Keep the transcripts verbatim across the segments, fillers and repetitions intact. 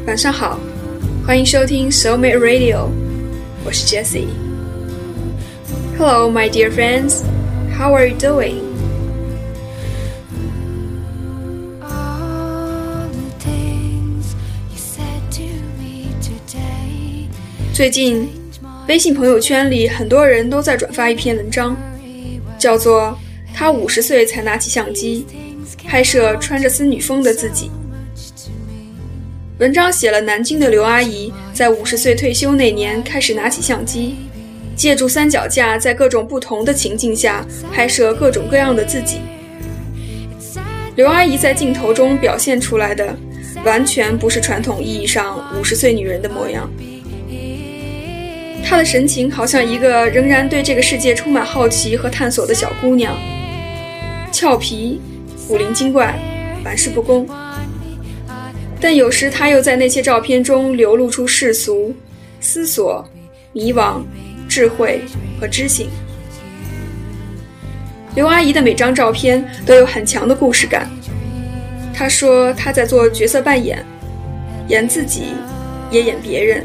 晚上好，欢迎收听 Soulmate Radio， 我是 Jessie。Hello, my dear friends. How are you doing? 最近，微信朋友圈里很多人都在转发一篇文章，叫做“他五十岁才拿起相机，拍摄穿着森女风的自己”。文章写了南京的刘阿姨在五十岁退休那年开始拿起相机，借助三脚架在各种不同的情境下拍摄各种各样的自己。刘阿姨在镜头中表现出来的完全不是传统意义上五十岁女人的模样，她的神情好像一个仍然对这个世界充满好奇和探索的小姑娘，俏皮、古灵精怪、玩世不恭。但有时她又在那些照片中流露出世俗、思索、迷惘、智慧和知性。刘阿姨的每张照片都有很强的故事感。她说她在做角色扮演，演自己，也演别人。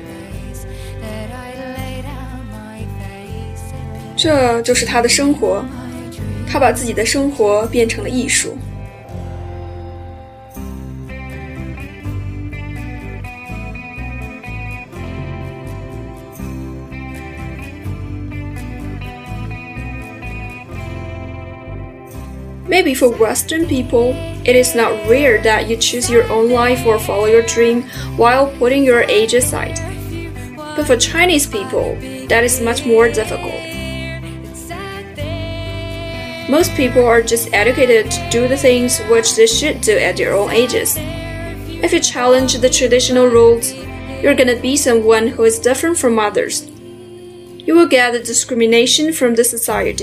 这就是她的生活，她把自己的生活变成了艺术。Maybe for Western people, it is not rare that you choose your own life or follow your dream while putting your age aside. But for Chinese people, that is much more difficult. Most people are just educated to do the things which they should do at their own ages. If you challenge the traditional rules, you're gonna be someone who is different from others. You will get the discrimination from the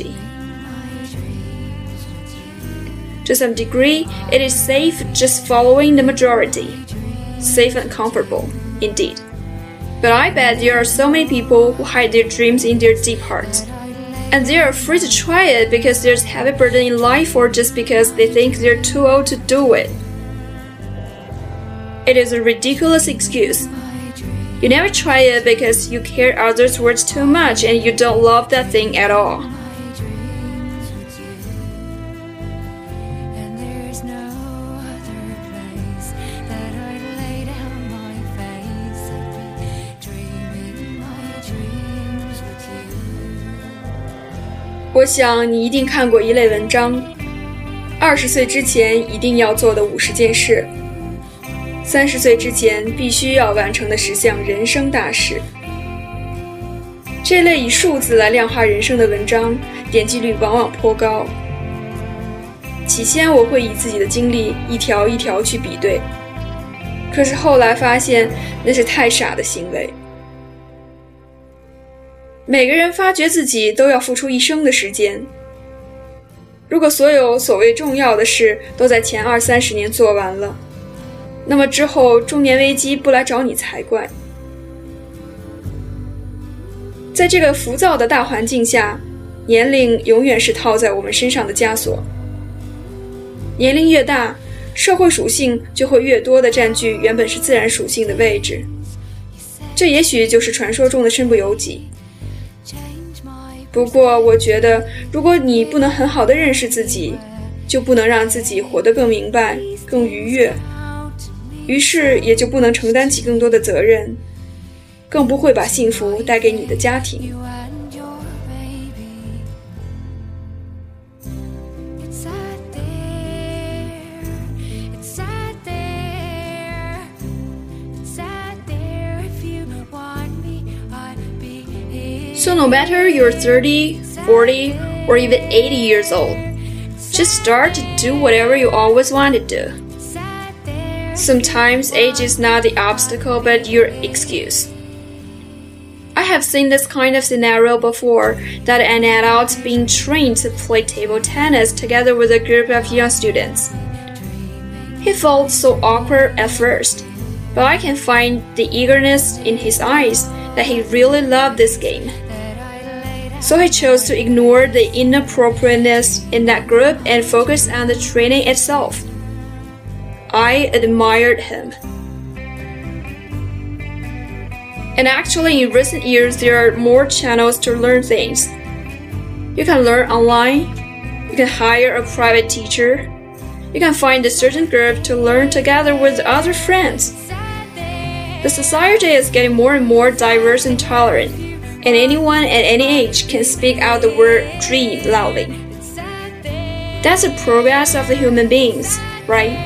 society.To some degree, it is safe just following the majority. Safe and comfortable, indeed. But I bet there are so many people who hide their dreams in their deep hearts. And they are afraid to try it because there's heavy burden in life or just because they think they're too old to do it. It is a ridiculous excuse. You never try it because you care others' words too much and you don't love that thing at all.我想你一定看过一类文章，二十岁之前一定要做的五十件事，三十岁之前必须要完成的十项人生大事。这类以数字来量化人生的文章，点击率往往颇高。起先我会以自己的经历一条一条去比对，可是后来发现那是太傻的行为。每个人发掘自己都要付出一生的时间。如果所有所谓重要的事都在前二三十年做完了，那么之后中年危机不来找你才怪。在这个浮躁的大环境下，年龄永远是套在我们身上的枷锁。年龄越大，社会属性就会越多地占据原本是自然属性的位置。这也许就是传说中的身不由己。不过我觉得，如果你不能很好地认识自己，就不能让自己活得更明白、更愉悦，于是也就不能承担起更多的责任，更不会把幸福带给你的家庭。So no matter you're thirty, forty, or even eighty years old, just start to do whatever you always wanted to do. Sometimes age is not the obstacle but your excuse. I have seen this kind of scenario before, that an adult being trained to play table tennis together with a group of young students. He felt so awkward at first, but I can find the eagerness in his eyes that he really loved this game.So he chose to ignore the inappropriateness in that group and focus on the training itself. I admired him. And actually, in recent years, there are more channels to learn things. You can learn online, you can hire a private teacher, you can find a certain group to learn together with other friends. The society is getting more and more diverse and tolerant, and anyone at any age can speak out the word dream loudly. That's the progress of the human beings, right?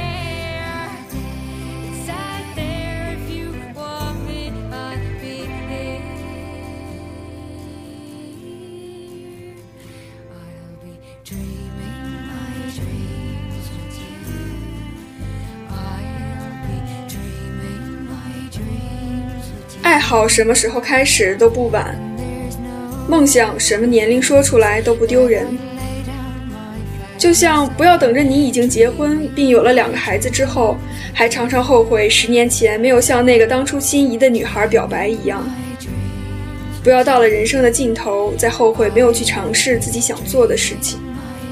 爱好什么时候开始都不晚，梦想什么年龄说出来都不丢人。就像不要等着你已经结婚并有了两个孩子之后，还常常后悔十年前没有向那个当初心仪的女孩表白一样。不要到了人生的尽头再后悔没有去尝试自己想做的事情。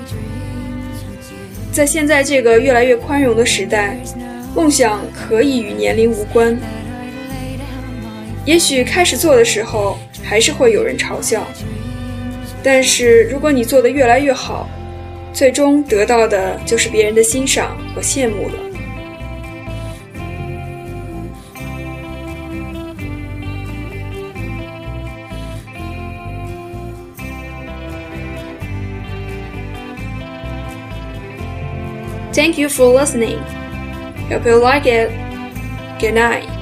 在现在这个越来越宽容的时代，梦想可以与年龄无关。也许开始做的时候还是会有人嘲笑，但是如果你做得越来越好，最终得到的就是别人的欣赏和羡慕了。Thank you for listening. Hope you like it. Good night.